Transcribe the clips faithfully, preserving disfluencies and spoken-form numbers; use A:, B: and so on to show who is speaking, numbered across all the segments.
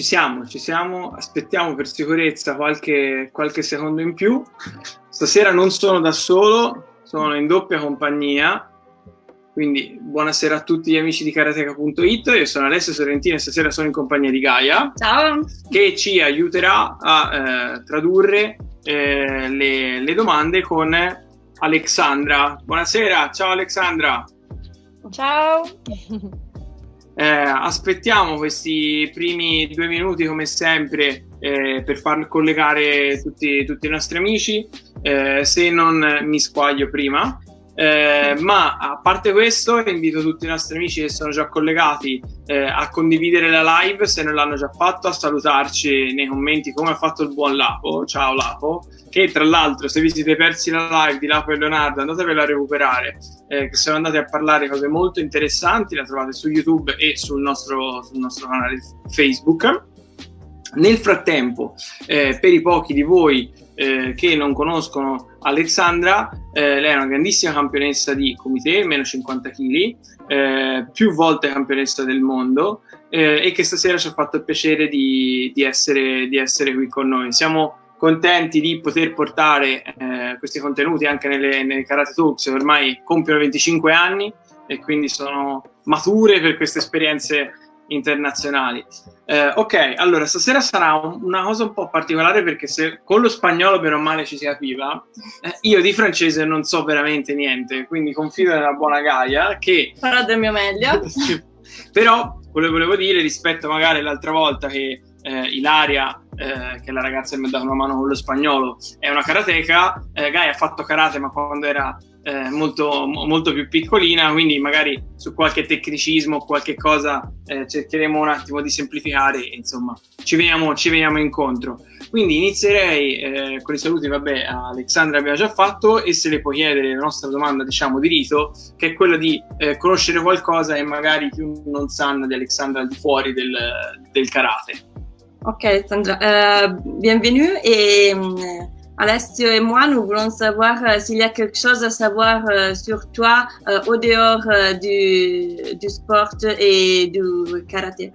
A: ci siamo, ci siamo, aspettiamo per sicurezza qualche, qualche secondo in più. Stasera non sono da solo, sono in doppia compagnia, quindi buonasera a tutti gli amici di karateka punto it. Io sono Alessio Sorrentino e stasera sono in compagnia di Gaia.
B: Ciao! Che
A: ci aiuterà a eh, tradurre eh, le, le domande con Alexandra. Buonasera, ciao Alexandra!
B: Ciao!
A: Eh, aspettiamo questi primi due minuti come sempre eh, per far collegare tutti, tutti i nostri amici, eh, se non mi squaglio prima, eh, ma a parte questo invito tutti i nostri amici che sono già collegati eh, a condividere la live se non l'hanno già fatto, a salutarci nei commenti come ha fatto il buon Lapo. Ciao Lapo, che tra l'altro se vi siete persi la live di Lapo e Leonardo andatevela a recuperare, eh, che sono andati a parlare cose molto interessanti, la trovate su YouTube e sul nostro, sul nostro canale Facebook. Nel frattempo, eh, per i pochi di voi eh, che non conoscono Alexandra, eh, lei è una grandissima campionessa di kumite, meno cinquanta chili, eh, più volte campionessa del mondo, eh, e che stasera ci ha fatto il piacere di, di, essere, di essere qui con noi. Siamo contenti di poter portare eh, questi contenuti anche nelle, nelle Karate Talks, ormai compiono venticinque anni e quindi sono mature per queste esperienze internazionali. Eh, ok, allora stasera sarà un, una cosa un po' particolare perché se con lo spagnolo bene o male ci si capiva, eh, io di francese non so veramente niente, quindi confido nella buona Gaia che
B: farò del mio meglio.
A: Però volevo, volevo dire, rispetto magari l'altra volta che eh, Ilaria, eh, che è la ragazza che mi ha dato una mano con lo spagnolo, è una karateka, eh, Gaia ha fatto karate ma quando era Eh, molto, molto più piccolina, quindi magari su qualche tecnicismo o qualche cosa eh, cercheremo un attimo di semplificare e insomma ci veniamo, ci veniamo incontro. Quindi inizierei eh, con i saluti, vabbè, a Alexandra abbiamo già fatto, e se le puoi chiedere la nostra domanda diciamo di rito, che è quella di eh, conoscere qualcosa che magari più non sanno di Alexandra al di fuori del, del karate.
B: Ok Alexandra, euh, bienvenue et euh... Alessio et moi, nous voulons savoir euh, s'il y a quelque chose à savoir euh, sur toi euh, au dehors euh, du, du sport et du karaté.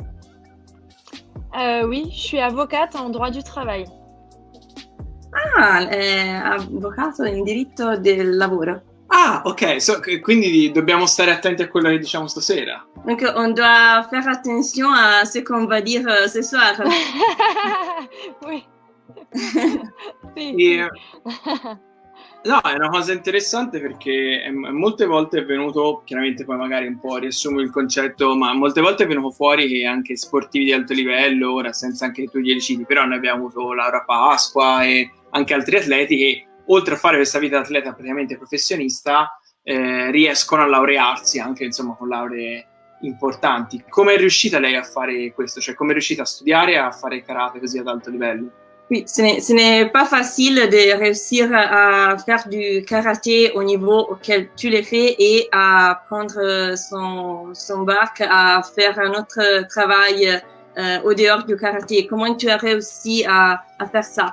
C: Euh, oui, je suis avocate en droit du travail.
B: Ah, è avvocato in diritto del lavoro.
A: Ah, ok, so, quindi dobbiamo stare attenti a quello che diciamo stasera.
B: Donc on doit faire attention à ce qu'on va dire euh, ce soir.
C: Oui. Sì.
A: E, no, è una cosa interessante perché è, molte volte è venuto, chiaramente poi magari un po' riassumo il concetto, ma molte volte è venuto fuori che anche sportivi di alto livello, ora senza anche che tu glieli citi, però noi abbiamo avuto Laura Pasqua e anche altri atleti che oltre a fare questa vita da atleta praticamente professionista eh, riescono a laurearsi anche insomma con lauree importanti. Come è riuscita lei a fare questo? Cioè come è riuscita a studiare e a fare karate così ad alto livello?
B: Oui, ce n'est, ce n'est pas facile de réussir à faire du karaté au niveau auquel tu l'as fait et à prendre son, son bac, à faire un autre travail euh, au dehors du karaté. Comment tu as réussi à, à faire ça?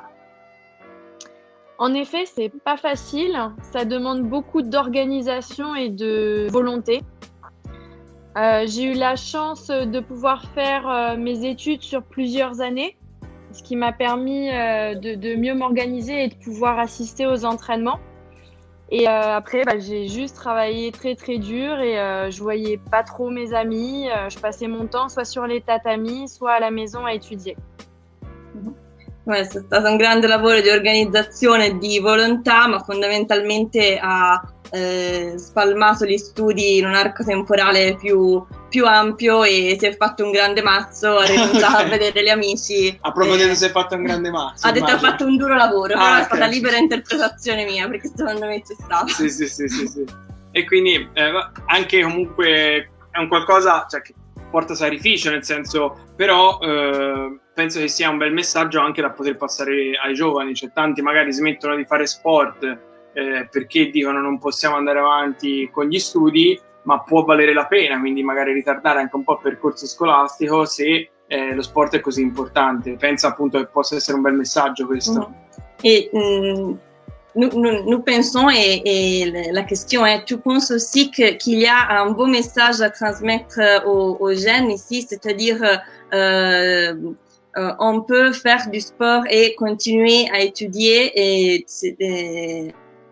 C: En effet, c'est pas facile. Ça demande beaucoup d'organisation et de volonté. Euh, j'ai eu la chance de pouvoir faire euh, mes études sur plusieurs années, ce qui m'a permis euh, de, de mieux m'organiser et de pouvoir assister aux entraînements. Et euh, après, bah, j'ai juste travaillé très très dur et euh, je voyais pas trop mes amis. Euh, je passais mon temps soit sur les tatamis, soit à la maison à étudier.
B: Questo è stato un grande lavoro di organizzazione e di volontà, ma fondamentalmente ha eh, spalmato gli studi in un arco temporale più, più ampio e si è fatto un grande mazzo, ha rinunciato a vedere gli amici.
A: A proposito eh, si è fatto un grande mazzo.
B: Ha detto
A: immagino.
B: Ha fatto un duro lavoro,
A: ah,
B: però
A: okay.
B: È stata libera interpretazione mia, perché secondo me c'è stato.
A: Sì, sì, sì, sì, sì. E quindi eh, anche comunque è un qualcosa, cioè, che porta sacrificio, nel senso, però eh, penso che sia un bel messaggio anche da poter passare ai giovani, cioè tanti magari smettono di fare sport eh, perché dicono non possiamo andare avanti con gli studi, ma può valere la pena, quindi magari ritardare anche un po' il percorso scolastico se eh, lo sport è così importante. Pensa appunto che possa essere un bel messaggio questo.
B: Mm. Et mm, nous, nous, nous pensons, et, et la question est, tu penses aussi que, qu'il y a un beau message à transmettre aux, aux jeunes ici, c'est-à-dire euh, euh, on peut faire du sport et continuer à étudier et, et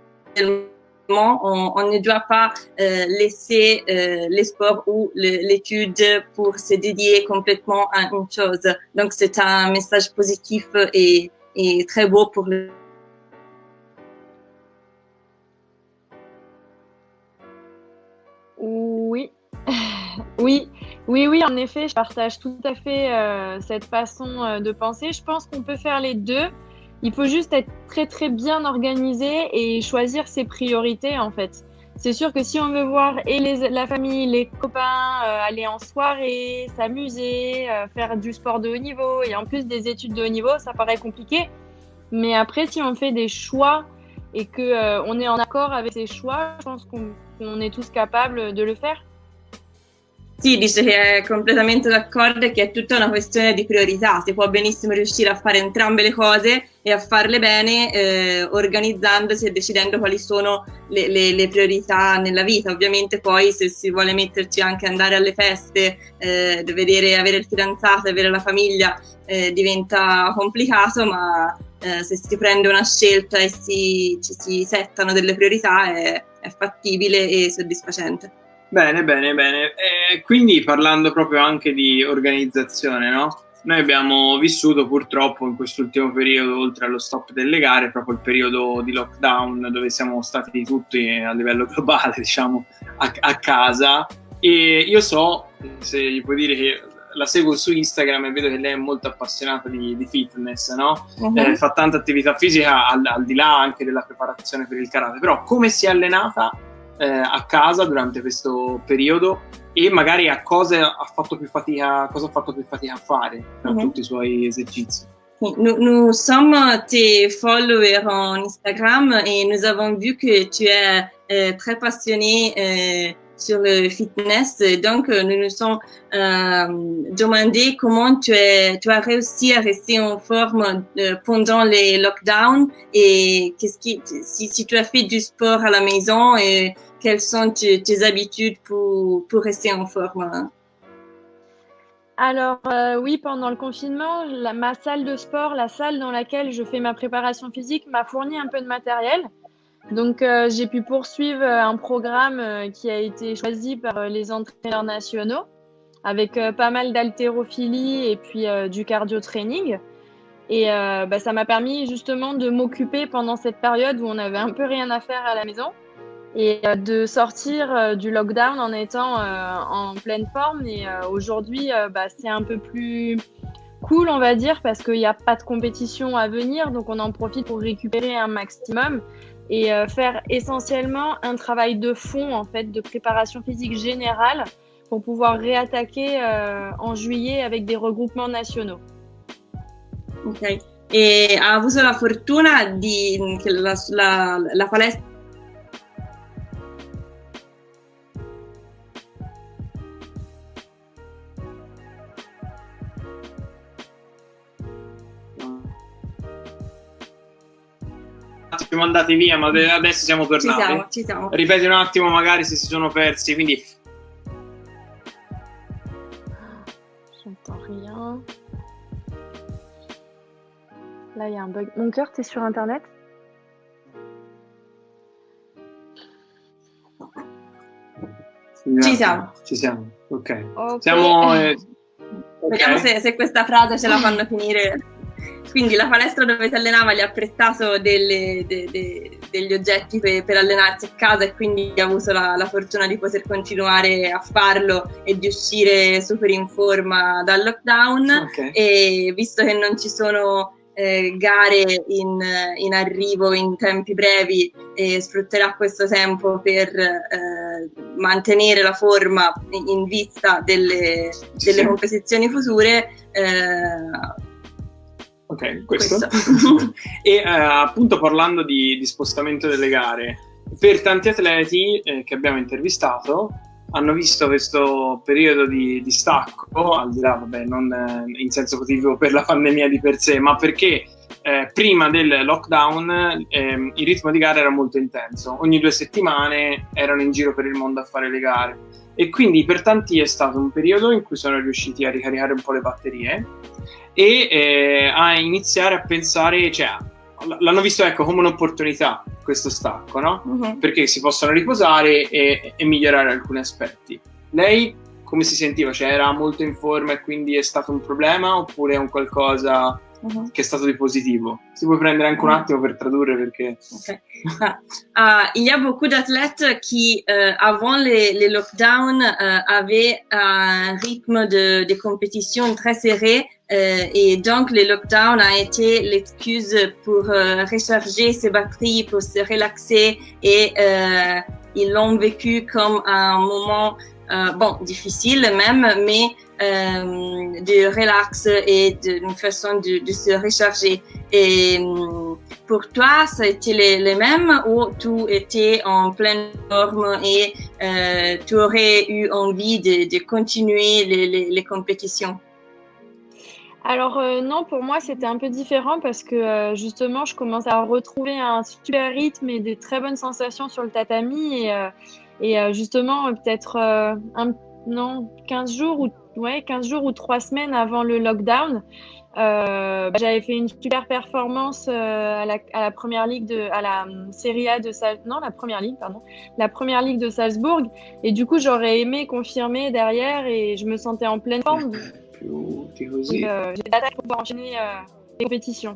B: on, on ne doit pas euh, laisser euh, le sport ou l'étude pour se dédier complètement à une chose. Donc c'est un message positif et, et très beau pour le
C: Oui, oui, oui, oui, en effet, je partage tout à fait euh, cette façon euh, de penser. Je pense qu'on peut faire les deux. Il faut juste être très, très bien organisé et choisir ses priorités, en fait. C'est sûr que si on veut voir et les, la famille, les copains, euh, aller en soirée, s'amuser, euh, faire du sport de haut niveau et en plus des études de haut niveau, ça paraît compliqué. Mais après, si on fait des choix et que euh, on est en accord avec ces choix, je pense qu'on qu'on est tous capables de le faire.
B: Sì, dice che è completamente d'accordo e che è tutta una questione di priorità. Si può benissimo riuscire a fare entrambe le cose e a farle bene eh, organizzandosi e decidendo quali sono le, le, le priorità nella vita. Ovviamente poi se si vuole metterci anche andare alle feste, eh, vedere, avere il fidanzato, avere la famiglia eh, diventa complicato, ma eh, se si prende una scelta e si, ci si settano delle priorità è, è fattibile e soddisfacente.
A: Bene, bene, bene. E quindi parlando proprio anche di organizzazione, no? Noi abbiamo vissuto purtroppo in quest'ultimo periodo, oltre allo stop delle gare, proprio il periodo di lockdown dove siamo stati tutti a livello globale, diciamo, a, a casa. E io so, se gli puoi dire che la seguo su Instagram e vedo che lei è molto appassionata di, di fitness, no? Uh-huh. Eh, fa tanta attività fisica al, al di là anche della preparazione per il karate, però come si è allenata eh, a casa durante questo periodo e magari a cosa ha fatto più fatica, cosa ha fatto più fatica a fare per uh-huh. tutti i suoi esercizi?
B: Nous, nous sommes tes followers en Instagram et nous avons vu que tu es euh, très passionné euh, sur le fitness. Donc, nous nous sommes euh, demandé comment tu, es, tu as réussi à rester en forme euh, pendant les lockdowns et qu'est-ce qui, si, si tu as fait du sport à la maison et quelles sont tes, tes habitudes pour, pour rester en forme.
C: Alors euh, oui, pendant le confinement, la, ma salle de sport, la salle dans laquelle je fais ma préparation physique m'a fourni un peu de matériel. Donc euh, j'ai pu poursuivre un programme euh, qui a été choisi par euh, les entraîneurs nationaux avec euh, pas mal d'haltérophilie et puis euh, du cardio training. Et euh, bah, ça m'a permis justement de m'occuper pendant cette période où on avait un peu rien à faire à la maison et euh, de sortir euh, du lockdown en étant euh, en pleine forme. Et euh, aujourd'hui, euh, bah, c'est un peu plus cool, on va dire, parce qu'il n'y a pas de compétition à venir, donc on en profite pour récupérer un maximum et euh, faire essentiellement un travail de fond, en fait, de préparation physique générale pour pouvoir réattaquer euh, en juillet avec des regroupements nationaux.
B: Ok. E ha avuto la fortuna di che la, la, la palestra
A: siamo andati via, ma adesso siamo tornati.
B: Ci siamo, ci siamo.
A: Ripeti un attimo magari se si sono persi, quindi
C: j'entends rien. Là, il y a un bug. Mon cœur, t'es sur internet?
B: Ci siamo.
A: Ci siamo, ok.
C: okay.
A: Siamo, eh,
B: Vediamo
A: okay.
B: se, se questa frase ce la fanno finire. Quindi la palestra dove si allenava gli ha prestato delle, de, de, degli oggetti per, per allenarsi a casa e quindi ha avuto la, la fortuna di poter continuare a farlo e di uscire super in forma dal lockdown.
A: Okay.
B: E visto che non ci sono eh, gare in, in arrivo in tempi brevi, eh, sfrutterà questo tempo per eh, mantenere la forma in, in vista delle, delle
A: sì.
B: competizioni future. Eh,
A: Ok, questo. questo. E eh, appunto parlando di, di spostamento delle gare, per tanti atleti eh, che abbiamo intervistato hanno visto questo periodo di, di stacco, al di là, vabbè, non eh, in senso positivo per la pandemia di per sé, ma perché eh, prima del lockdown eh, il ritmo di gara era molto intenso. Ogni due settimane erano in giro per il mondo a fare le gare e quindi per tanti è stato un periodo in cui sono riusciti a ricaricare un po' le batterie e eh, a iniziare a pensare, cioè l'hanno visto, ecco, come un'opportunità questo stacco, no? Uh-huh. Perché si possono riposare e, e migliorare alcuni aspetti. Lei come si sentiva? Cioè era molto in forma e quindi è stato un problema, oppure è un qualcosa uh-huh. che è stato di positivo? Si può prendere anche un attimo per tradurre, perché...
B: Okay. Ah, uh, il y a beaucoup d'athlètes qui, euh, avant les, les lockdowns, euh, avaient un rythme de, de compétition très serré, euh, et donc les lockdowns a été l'excuse pour euh, recharger ses batteries, pour se relaxer, et euh, ils l'ont vécu comme un moment euh, bon, difficile même, mais euh, de relax et d'une façon de, de se recharger. Et pour toi, ça a été les, les mêmes, ou tu étais en pleine forme et euh, tu aurais eu envie de, de continuer les, les, les compétitions?
C: Alors euh, non, pour moi c'était un peu différent parce que euh, justement je commence à retrouver un super rythme et des très bonnes sensations sur le tatami, et, euh, et euh, justement euh, peut-être euh, un, non, quinze jours ou ouais, quinze jours ou trois semaines avant le lockdown, euh, bah, j'avais fait une super performance euh, à, la, à la première ligue de à la um, Serie A de Sal non la première ligue pardon la première ligue de Salzbourg, et du coup j'aurais aimé confirmer derrière et je me sentais en pleine forme.
A: Così.
C: Euh, j'ai l'attaque pour enchaîner euh, les compétitions.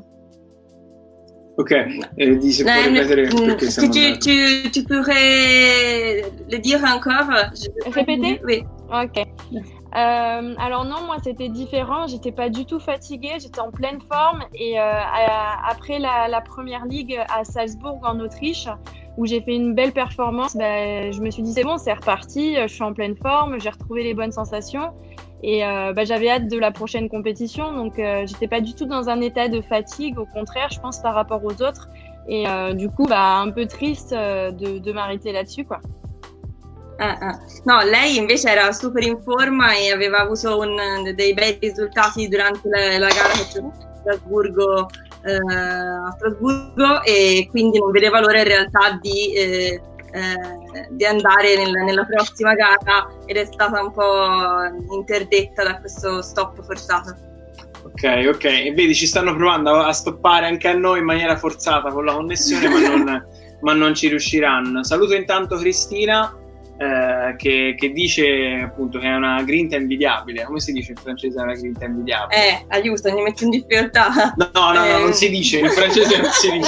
A: Ok, eh, di se può ripetere perché siamo
B: tu, tu, tu pourrais le dire encore?
C: Répéter?
B: Oui.
C: Ok. Euh, alors non, moi c'était différent, j'étais pas du tout fatiguée, j'étais en pleine forme, et euh, à, après la, la première ligue à Salzbourg en Autriche, où j'ai fait une belle performance, bah, je me suis dit c'est bon, c'est reparti, je suis en pleine forme, j'ai retrouvé les bonnes sensations, et euh, bah, j'avais hâte de la prochaine compétition, donc euh, j'étais pas du tout dans un état de fatigue, au contraire je pense par rapport aux autres, et euh, du coup bah, un peu triste euh, de, de m'arrêter là-dessus quoi.
B: Ah, ah. No, lei invece era super in forma e aveva avuto un, dei bei risultati durante la, la gara che c'è a Strasburgo, eh, a Strasburgo, e quindi non vedeva l'ora in realtà di, eh, eh, di andare nel, nella prossima gara, ed è stata un po' interdetta da questo stop forzato.
A: Ok, ok, e vedi, ci stanno provando a stoppare anche a noi in maniera forzata con la connessione, ma non, ma non ci riusciranno. Saluto intanto Cristina. Eh, che, che dice appunto che è una grinta invidiabile. Come si dice in francese una grinta invidiabile?
B: Eh, aiuto, mi metti in difficoltà.
A: No, no, no,
B: eh.
A: no, non si dice, in francese non si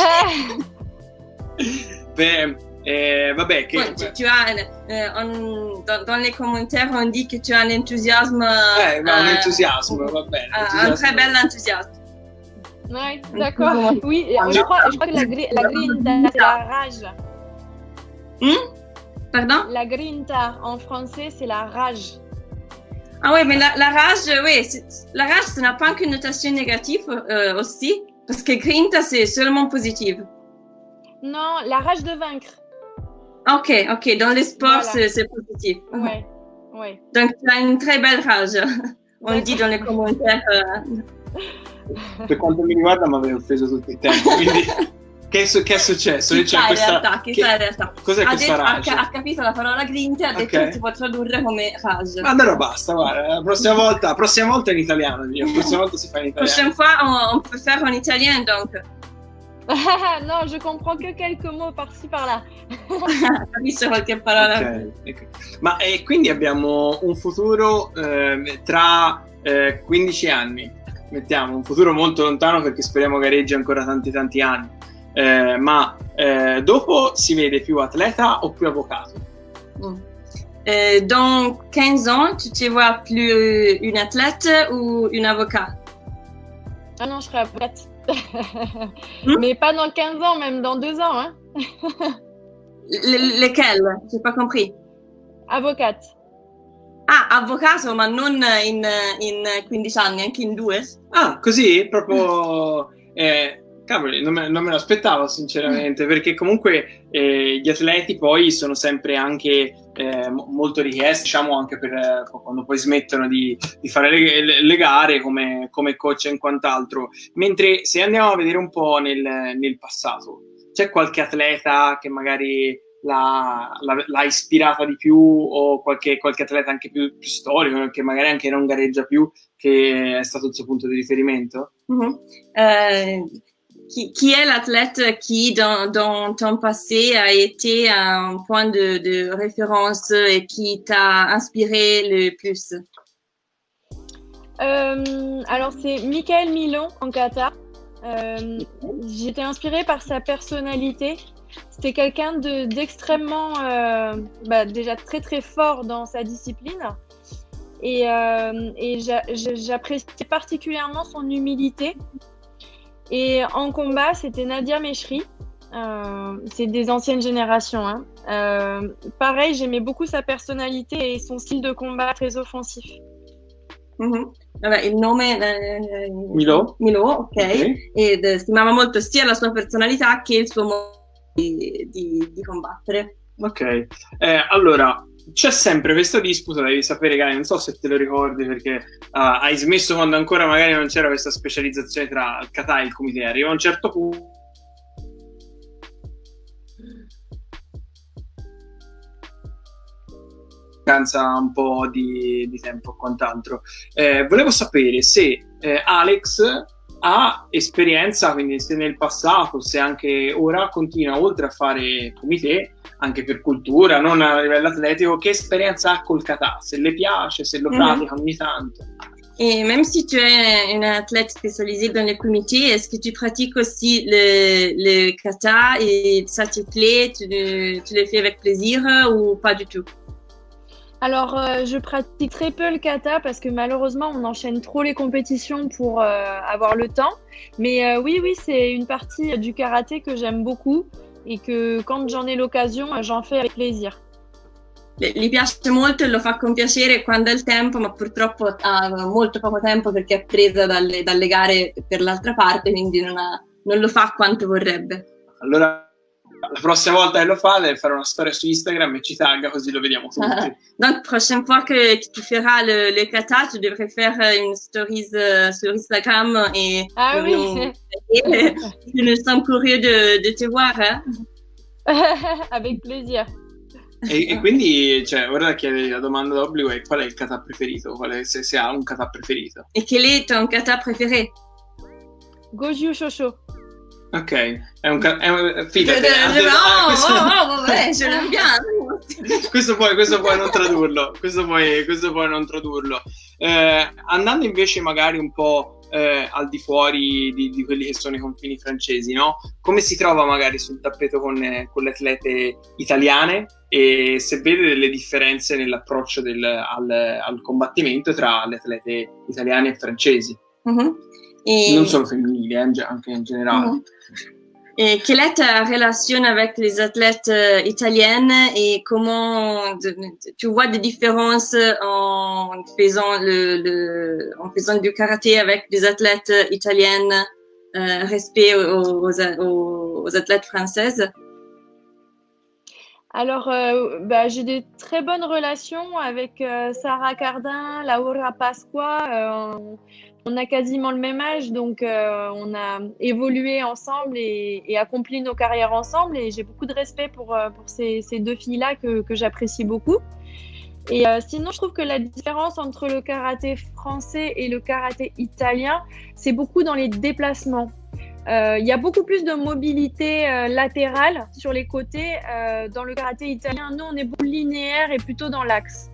A: dice. Beh, eh, vabbè, che...
B: Ouais, tu, tu as, euh, on, dans, dans les commentaires, on dit que tu as un enthousiasme...
A: Eh, ma un
B: euh,
A: entusiasmo, va bene.
B: Un très bel enthousiasme.
C: Ouais, d'accord. Oui, je crois, je crois que la, gri la grinta, c'est la rage.
B: Hmm? Pardon?
C: La grinta, en français, c'est la rage.
B: Ah oui, mais la, la rage, oui, la rage, ça n'a pas qu'une notation négative euh, aussi, parce que grinta, c'est seulement positif.
C: Non, la rage de vaincre.
B: Ok, ok, dans les sports,
C: Voilà.
B: c'est positif.
C: Ouais, ouais.
B: Donc, tu as une très belle rage, on le dit dans les commentaires. Euh...
A: Per quanto mi riguarda mi aveva offeso tutto il tempo, quindi... Che è, che è successo?
B: Chissà in
A: questa...
B: realtà, chissà
A: che...
B: in realtà.
A: Cos'è
B: ha
A: questa
B: detto,
A: rage?
B: Ha, ha capito la parola grinta e ha detto
A: okay.
B: che si può tradurre come rage.
A: Ma allora basta, guarda, la prossima volta, la prossima volta in italiano, la prossima volta si fa in italiano.
B: Prochaine fois, on, on peut faire en italien, donc.
C: Non, je comprends que quelques mots par-ci par-là.
B: Capisco qualche parola.
A: Okay, okay. Ma e quindi abbiamo un futuro eh, tra eh, quindici anni, mettiamo, un futuro molto lontano perché speriamo gareggi ancora tanti tanti anni. Eh, ma eh, dopo si vede più atleta o più avvocato?
B: Mm. Euh, dans quinze ans, tu te vois plus une athlète ou une avocate?
C: Ah non, je serai avocate.
B: Mm?
C: Mais pas dans quinze ans, même dans deux ans. Hein.
B: Le, lesquelles? J'ai pas compris.
C: Avocate.
B: Ah, avvocato, ma non in, in quindici anni, anche in due?
A: Ah, così? Proprio... Eh, cavoli, non me, non me lo aspettavo sinceramente, perché comunque eh, gli atleti poi sono sempre anche eh, molto richiesti, diciamo anche per eh, quando poi smettono di, di fare le, le, le gare come, come coach e quant'altro. Mentre se andiamo a vedere un po' nel, nel passato, c'è qualche atleta che magari l'ha, l'ha, l'ha ispirata di più, o qualche, qualche atleta anche più, più storico, che magari anche non gareggia più, che è stato il suo punto di riferimento?
B: Mm-hmm. Uh, qui, qui est l'athlète qui, dans, dans ton passé, a été un point de, de référence et qui t'a inspiré le plus?
C: Euh, alors c'est Michael Milon en kata. Euh, j'étais inspirée par sa personnalité. C'était quelqu'un de, d'extrêmement, euh, bah, déjà très très fort dans sa discipline. Et, euh, et j'a, j'appréciais particulièrement son humilité. Et en combat, c'était Nadia Mechri. Euh, c'est des anciennes générations. Hein. Euh, pareil, j'aimais beaucoup sa personnalité et son style de combat très offensif.
B: Mm-hmm. Vabbè, il nome eh,
A: Milo,
B: Milo ok,
A: okay.
B: Ed eh, stimava molto sia la sua personalità che il suo modo di, di, di combattere.
A: Ok, eh, allora c'è sempre questa disputa, devi sapere, Gaia, non so se te lo ricordi, perché uh, hai smesso quando ancora magari non c'era questa specializzazione tra il kata e il kumite. Arriva a un certo punto un po' di, di tempo o quant'altro. Eh, volevo sapere se eh, Alex ha esperienza, quindi se nel passato, se anche ora continua, oltre a fare kumite, anche per cultura, non a livello atletico, che esperienza ha col kata, se le piace, se lo pratica mm-hmm. ogni tanto.
B: Et même si tu es une athlète spécialisée dans le kumite, est-ce que tu pratiques aussi le, le kata et ça te plaît, tu, tu le fais avec plaisir ou pas du tout?
C: Alors, euh, je pratique très peu le kata parce que malheureusement, on enchaîne trop les compétitions pour euh, avoir le temps. Mais euh, oui, oui, c'est une partie du karaté que j'aime beaucoup et que quand j'en ai l'occasion, j'en fais avec plaisir.
B: Gli piace molto e lo fa con piacere quando ha il tempo, ma purtroppo ha molto poco tempo perché è presa dalle, dalle gare per l'altra parte, quindi non, ha, non lo fa quanto vorrebbe.
A: Allora, la prossima volta che lo fa deve fare una storia su Instagram e ci tagga, così lo vediamo tutti.
B: Donc, prochaine fois que tu feras le, le kata, tu devrais faire une stories uh, sur Instagram et
C: ah oui.
B: nous, et, nous sommes curieux de, de te voir. Hein?
C: Avec plaisir.
A: E, e quindi, cioè, ora chiede la domanda d'obbligo è: qual è il kata preferito? Qual è, se, se ha un kata preferito?
B: E quel est ton kata préféré?
C: Goju Shosho.
A: Ok, è un è, fidati,
B: no, ah, questo, oh, oh, vabbè, ce l'abbiamo.
A: questo puoi questo puoi non tradurlo, questo puoi questo puoi non tradurlo. Eh, andando invece magari un po' eh, al di fuori di, di quelli che sono i confini francesi, no? Come si trova magari sul tappeto con, con le atlete italiane, e se vede delle differenze nell'approccio del, al, al combattimento tra le atlete italiane e francesi?
B: Mm-hmm. Et...
A: non solo femminili, eh, anche in generale.
B: Mm-hmm. Et quelle est ta relation avec les athlètes euh, italiennes et comment de, tu vois des différences en faisant le, le en faisant du karaté avec des athlètes italiennes euh, respect aux, aux, aux athlètes françaises?
C: Alors, euh, bah, j'ai des très bonnes relations avec euh, Sarah Cardin, Laura Pasqua. Euh, on, on a quasiment le même âge, donc euh, on a évolué ensemble et, et accompli nos carrières ensemble. Et j'ai beaucoup de respect pour, pour ces, ces deux filles-là que, que j'apprécie beaucoup. Et euh, sinon, je trouve que la différence entre le karaté français et le karaté italien, c'est beaucoup dans les déplacements. Il euh, y a beaucoup plus de mobilité euh, latérale sur les côtés. Euh, dans le karaté italien, nous, on est beaucoup linéaire et plutôt dans l'axe.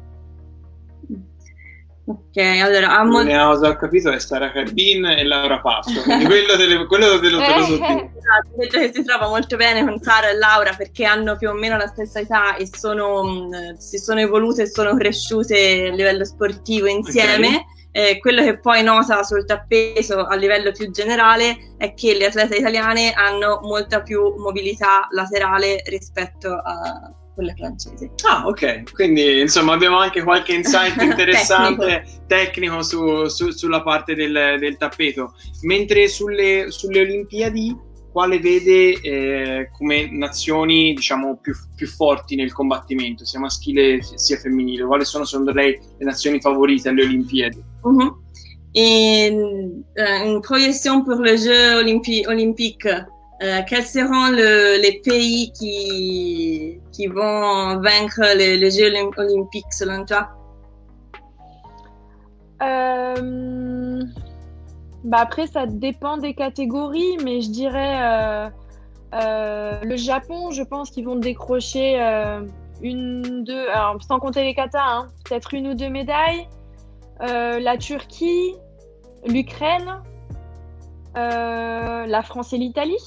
B: Ok, allora ha
A: molto... L'unica cosa ho capito è Sara Cardin e Laura Pasqua, quindi quello, delle, quello te lo, te lo so dire.
B: Ho detto che si trova molto bene con Sara e Laura perché hanno più o meno la stessa età e sono, mh, si sono evolute e sono cresciute a livello sportivo insieme. Okay. Eh, quello che poi nota sul tappeto a livello più generale è che le atlete italiane hanno molta più mobilità laterale rispetto a quelle francesi.
A: Ah, ok, quindi insomma abbiamo anche qualche insight interessante tecnico, tecnico su, su, sulla parte del, del tappeto. Mentre sulle, sulle Olimpiadi, quale vede eh, come nazioni, diciamo, più, più forti nel combattimento, sia maschile sia femminile? Quali sono secondo lei le nazioni favorite alle Olimpiadi?
B: Mm-hmm. Et, euh, une projection pour les Jeux olympi- olympiques, euh, quels seront le, les pays qui, qui vont vaincre les, les Jeux olympiques selon toi?
C: Euh, bah après, ça dépend des catégories, mais je dirais euh, euh, le Japon, je pense qu'ils vont décrocher euh, une, deux, alors sans compter les katas, hein, peut-être une ou deux médailles. Euh, la Turquie, l'Ukraine, euh, la France et l'Italie.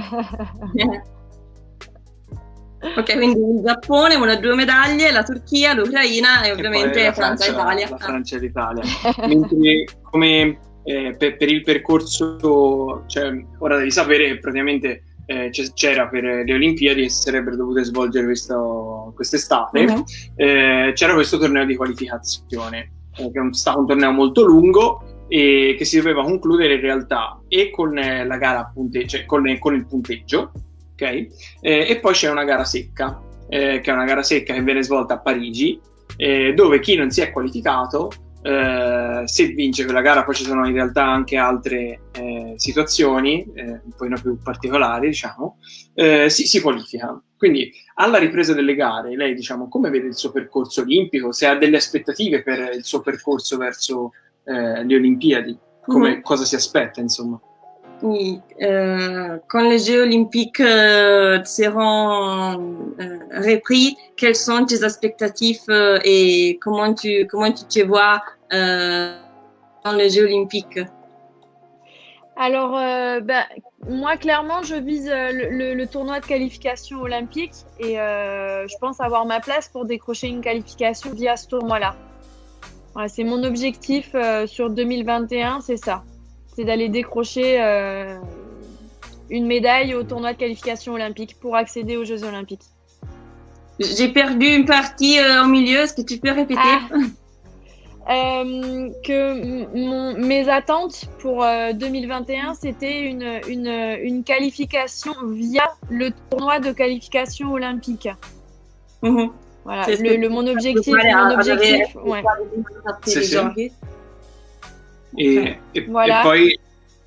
B: Ok, quindi il Giappone, una due medaglie, la Turchia, l'Ucraina e ovviamente
A: la
B: Francia e Italia.
A: La Francia e l'Italia. Mentre come eh, per, per il percorso, cioè, ora devi sapere che praticamente eh, c'era per le Olimpiadi che si sarebbero dovute svolgere questo, quest'estate, uh-huh. eh, c'era questo torneo di qualificazione, eh, che è stato un torneo molto lungo e che si doveva concludere in realtà e con la gara a punte, cioè con, con il punteggio. Okay? Eh, e poi c'è una gara secca, eh, che è una gara secca che viene svolta a Parigi, eh, dove chi non si è qualificato, eh, se vince quella gara, poi ci sono in realtà anche altre eh, situazioni, eh, un po' più particolari, diciamo, eh, si, si qualifica. Quindi alla ripresa delle gare, lei, diciamo, come vede il suo percorso olimpico? Se ha delle aspettative per il suo percorso verso eh, le Olimpiadi? Come, mm-hmm. Cosa si aspetta, insomma?
B: Oui, euh, quand les Jeux olympiques euh, seront euh, repris, quelles sont tes expectatives euh, et comment tu comment tu te vois euh, dans les Jeux olympiques?
C: Alors, euh, ben, moi, clairement, je vise le, le, le tournoi de qualification olympique et euh, je pense avoir ma place pour décrocher une qualification via ce tournoi-là. Voilà, c'est mon objectif euh, sur deux mille vingt et un, c'est ça. C'est d'aller décrocher euh, une médaille au tournoi de qualification olympique pour accéder aux Jeux olympiques.
B: J'ai perdu une partie euh, au milieu, est-ce que tu peux répéter?
C: ah. euh, que mon, mes attentes pour euh, deux mille vingt et un, c'était une, une, une qualification via le tournoi de qualification olympique.
B: Mm-hmm.
C: Voilà, le, le, mon objectif. Mon objectif ouais.
A: C'est ça. Et, et, voilà. Et poi...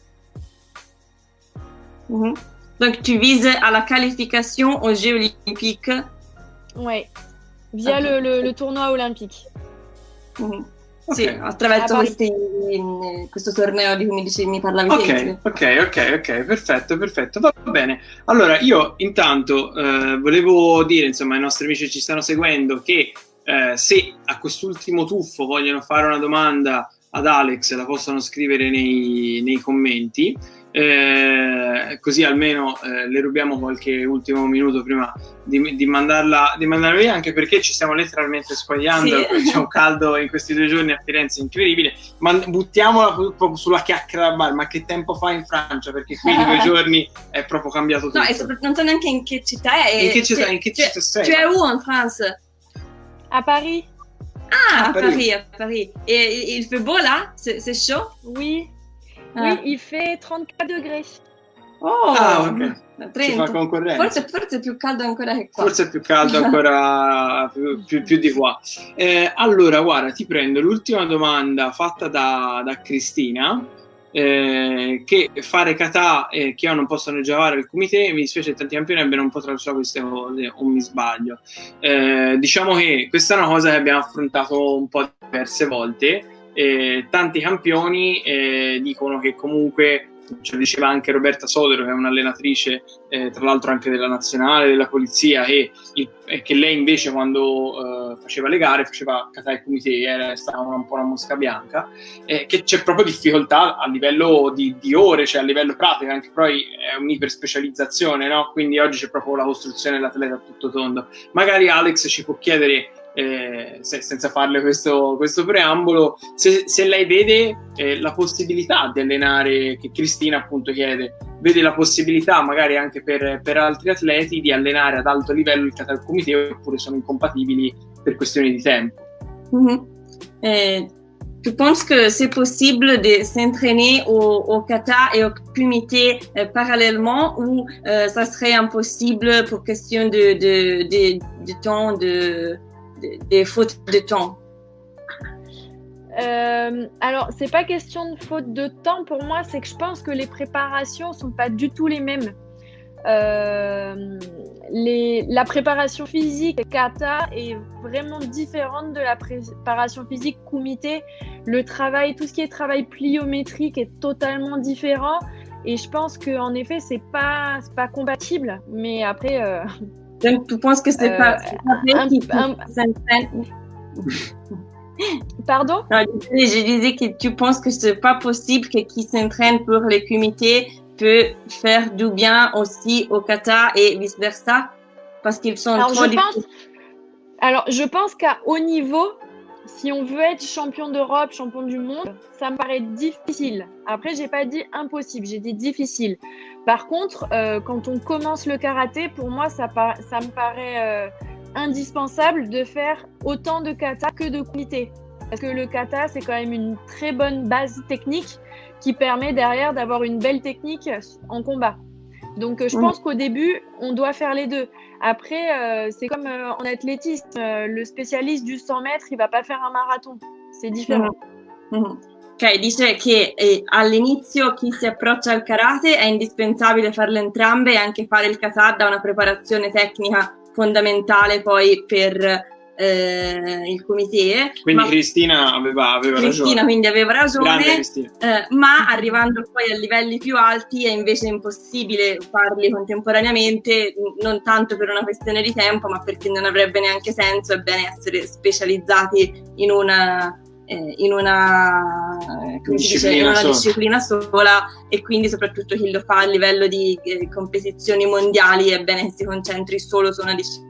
B: mm-hmm. Donc tu vises à la qualification aux Jeux olympiques?
C: Oui, via okay. le, le, le tournoi olympique.
B: Mm-hmm. Sì, okay. attraverso questi, questo torneo di cui mi, mi parlavi.
A: Ok, ok, ok, ok, perfetto, perfetto, va bene. Allora io intanto eh, volevo dire, insomma, ai nostri amici che ci stanno seguendo che eh, se a quest'ultimo tuffo vogliono fare una domanda ad Alex, la possono scrivere nei, nei commenti, eh, così almeno eh, le rubiamo qualche ultimo minuto prima di, di, mandarla, di mandarla via, anche perché ci stiamo letteralmente squagliando, sì. C'è un caldo in questi due giorni a Firenze incredibile, ma buttiamola proprio sulla chiacchiera da bar, ma che tempo fa in Francia? Perché qui in due giorni è proprio cambiato tutto.
B: No, e soprattutto non so neanche in che città è.
A: In che città, in che città sei?
B: Tu es où en France?
C: A Paris.
B: Ah, à Paris. Paris, à Paris. Et il fait beau là? C'est chaud?
C: Oui. Ah. Oui, il fait trentaquattro degrés.
B: Oh,
A: ah, ok. Ci fa concorrenza.
B: Forse, forse è più caldo ancora che qua.
A: Forse è più caldo ancora più, più, più di qua. Eh, allora, guarda, ti prendo l'ultima domanda fatta da, da Cristina. Eh, che fare kata e che non possono giocare al comité, mi dispiace che tanti campioni abbiano un po' tralasciato queste cose o mi sbaglio. Eh, diciamo che questa è una cosa che abbiamo affrontato un po' diverse volte. Eh, tanti campioni eh, dicono che comunque, ce lo diceva anche Roberta Sodero, che è un'allenatrice eh, tra l'altro anche della nazionale, della polizia, e, e che lei invece quando eh, faceva le gare faceva kata e kumite, era stata una, un po' una mosca bianca, eh, che c'è proprio difficoltà a livello di, di ore, cioè a livello pratico, anche poi è un'iperspecializzazione, no? Quindi oggi c'è proprio la costruzione dell'atleta a tutto tondo. Magari Alex ci può chiedere, Eh, se, senza farle questo, questo preambolo, se, se lei vede eh, la possibilità di allenare, che Cristina appunto chiede, vede la possibilità magari anche per, per altri atleti di allenare ad alto livello il kata kumite, oppure sono incompatibili per questioni di tempo.
B: Mm-hmm. eh, tu penses que c'est possible de s'entraîner au, au kata et au kumite euh, parallèlement, ou euh, ça serait impossible pour question de, de, de, de temps, de des fautes de temps?
C: euh, Alors, c'est pas question de faute de temps pour moi, c'est que je pense que les préparations sont pas du tout les mêmes. euh, les, la préparation physique kata est vraiment différente de la préparation physique kumite. Le travail, tout ce qui est travail pliométrique est totalement différent. Et je pense qu'en effet, c'est pas, c'est pas compatible. Mais après. Euh,
B: Donc, tu penses que c'est
C: euh,
B: pas.
C: un, un, Pardon?
B: Non, je disais que tu penses que c'est pas possible que qui s'entraîne pour le kumite peut faire du bien aussi au kata et vice versa parce qu'ils sont
C: alors,
B: trop
C: je pense, alors je pense qu'à haut niveau, si on veut être champion d'Europe, champion du monde, ça me paraît difficile. Après, j'ai pas dit impossible, j'ai dit difficile. Par contre, euh, quand on commence le karaté, pour moi, ça, par, ça me paraît euh, indispensable de faire autant de kata que de kumite. Parce que le kata, c'est quand même une très bonne base technique qui permet derrière d'avoir une belle technique en combat. Donc, je pense qu'au début, on doit faire les deux. Après, euh, c'est comme euh, en athlétisme, euh, le spécialiste du cent mètres, il va pas faire un marathon. C'est différent.
B: Mm-hmm. Ok, dice che eh, all'inizio chi si approccia al karate è indispensabile farle entrambe e anche fare il kata da una preparazione tecnica fondamentale poi per eh, il kumite.
A: Quindi ma Cristina aveva, aveva
B: Cristina
A: ragione.
B: quindi aveva ragione,
A: eh,
B: ma arrivando poi a livelli più alti è invece impossibile farli contemporaneamente, non tanto per una questione di tempo, ma perché non avrebbe neanche senso. È bene essere specializzati in una eh, in una, come si dice, in una disciplina sola, e quindi soprattutto chi lo fa a livello di eh, competizioni mondiali è bene che si concentri solo su una disciplina.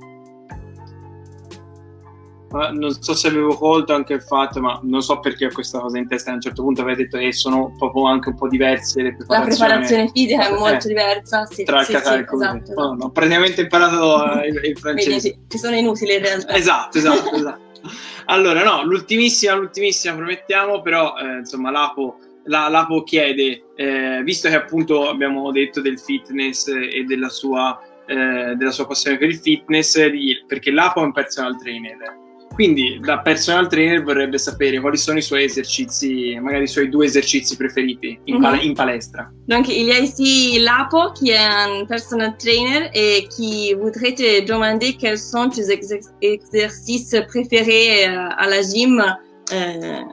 A: Non so se avevo colto anche il fatto, ma non so perché ho questa cosa in testa. A un certo punto avete detto che sono proprio anche un po' diverse le preparazioni.
B: La preparazione fisica è molto
A: eh,
B: diversa, sì,
A: tra il
B: sì,
A: kata
B: sì,
A: e il kumite.
B: esatto, esatto.
A: No, ho praticamente imparato eh, il, il francese.
B: Quindi ci sono inutili in realtà.
A: Esatto, esatto, esatto. Allora, no, l'ultimissima, l'ultimissima promettiamo, però eh, insomma l'Apo, la, l'Apo chiede, eh, visto che appunto abbiamo detto del fitness e della sua, eh, della sua passione per il fitness, di, perché l'Apo è un personal trainer. Quindi da personal trainer vorrebbe sapere quali sono i suoi esercizi, magari i suoi due esercizi preferiti in, pal- mm-hmm. in palestra.
B: Donc il y a ici Lapo qui est un personal trainer et qui voudrait te demander quels sont tes ex- exercices préférés euh, à la gym. Euh...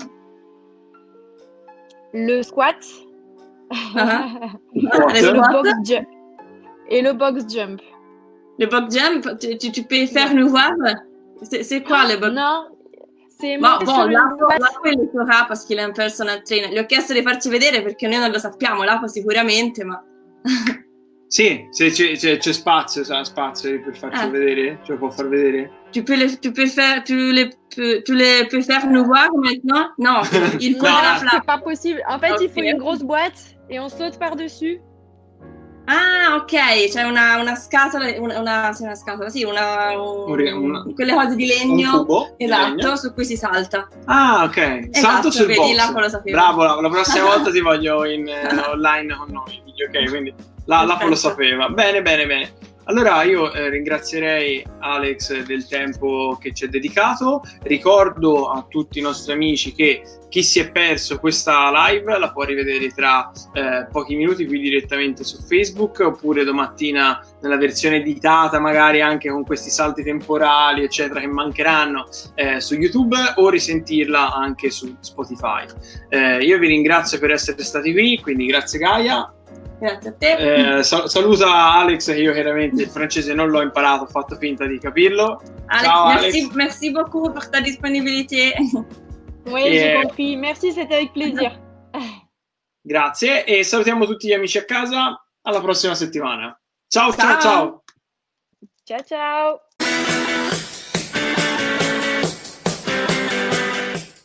C: Le squat.
B: Uh-huh.
C: Le box jump. Et le box jump.
B: Le box jump, tu, tu, tu peux faire nous voir? C'est, c'est quoi le box?
C: Non, c'est
B: Ma bon, Lapo, Lapo lo saprà perché è un personal trainer. Gli ho chiesto di farci vedere perché noi non lo sappiamo, Lapo sicuramente, ma...
A: Sì, se c'è, c'è, c'è spazio, c'è spazio per farci ah. vedere, ce lo può far vedere?
B: Tu peux le, tu peux faire, tu le, tu, tu le peux faire nous voir maintenant? Non, il faut
C: non,
B: la
C: c'est pas possible. En fait,
B: okay.
C: il faut une grosse boîte et on saute par-dessus.
B: Ah, ok, c'è una, una scatola, una, una, sì, una scatola, sì, una, un, una, quelle cose di legno,
A: un cubo,
B: esatto,
A: legno.
B: Su cui si salta.
A: Ah, ok,
B: esatto,
A: salto sul
B: vedi,
A: box.
B: Lapo lo sapevo.
A: Bravo, la, la prossima volta ti voglio in eh, online con noi, ok, quindi la, Lapo lo sapeva. Bene, bene, bene. Allora io eh, ringrazierei Alex del tempo che ci ha dedicato. Ricordo a tutti i nostri amici che chi si è perso questa live la può rivedere tra eh, pochi minuti qui direttamente su Facebook, oppure domattina nella versione editata, magari anche con questi salti temporali eccetera che mancheranno eh, su YouTube, o risentirla anche su Spotify. Eh, io vi ringrazio per essere stati qui, quindi grazie Gaia.
B: Grazie a te.
A: Eh, sal- saluta Alex, che io chiaramente il francese non l'ho imparato, ho fatto finta di capirlo.
B: Alex,
A: Ciao
B: merci,
A: Alex.
B: Merci beaucoup pour ta disponibilité.
C: Oui, et... j'ai compris. Merci, c'était avec plaisir.
A: Grazie e salutiamo tutti gli amici a casa. Alla prossima settimana. Ciao, ciao, ciao.
C: Ciao, ciao.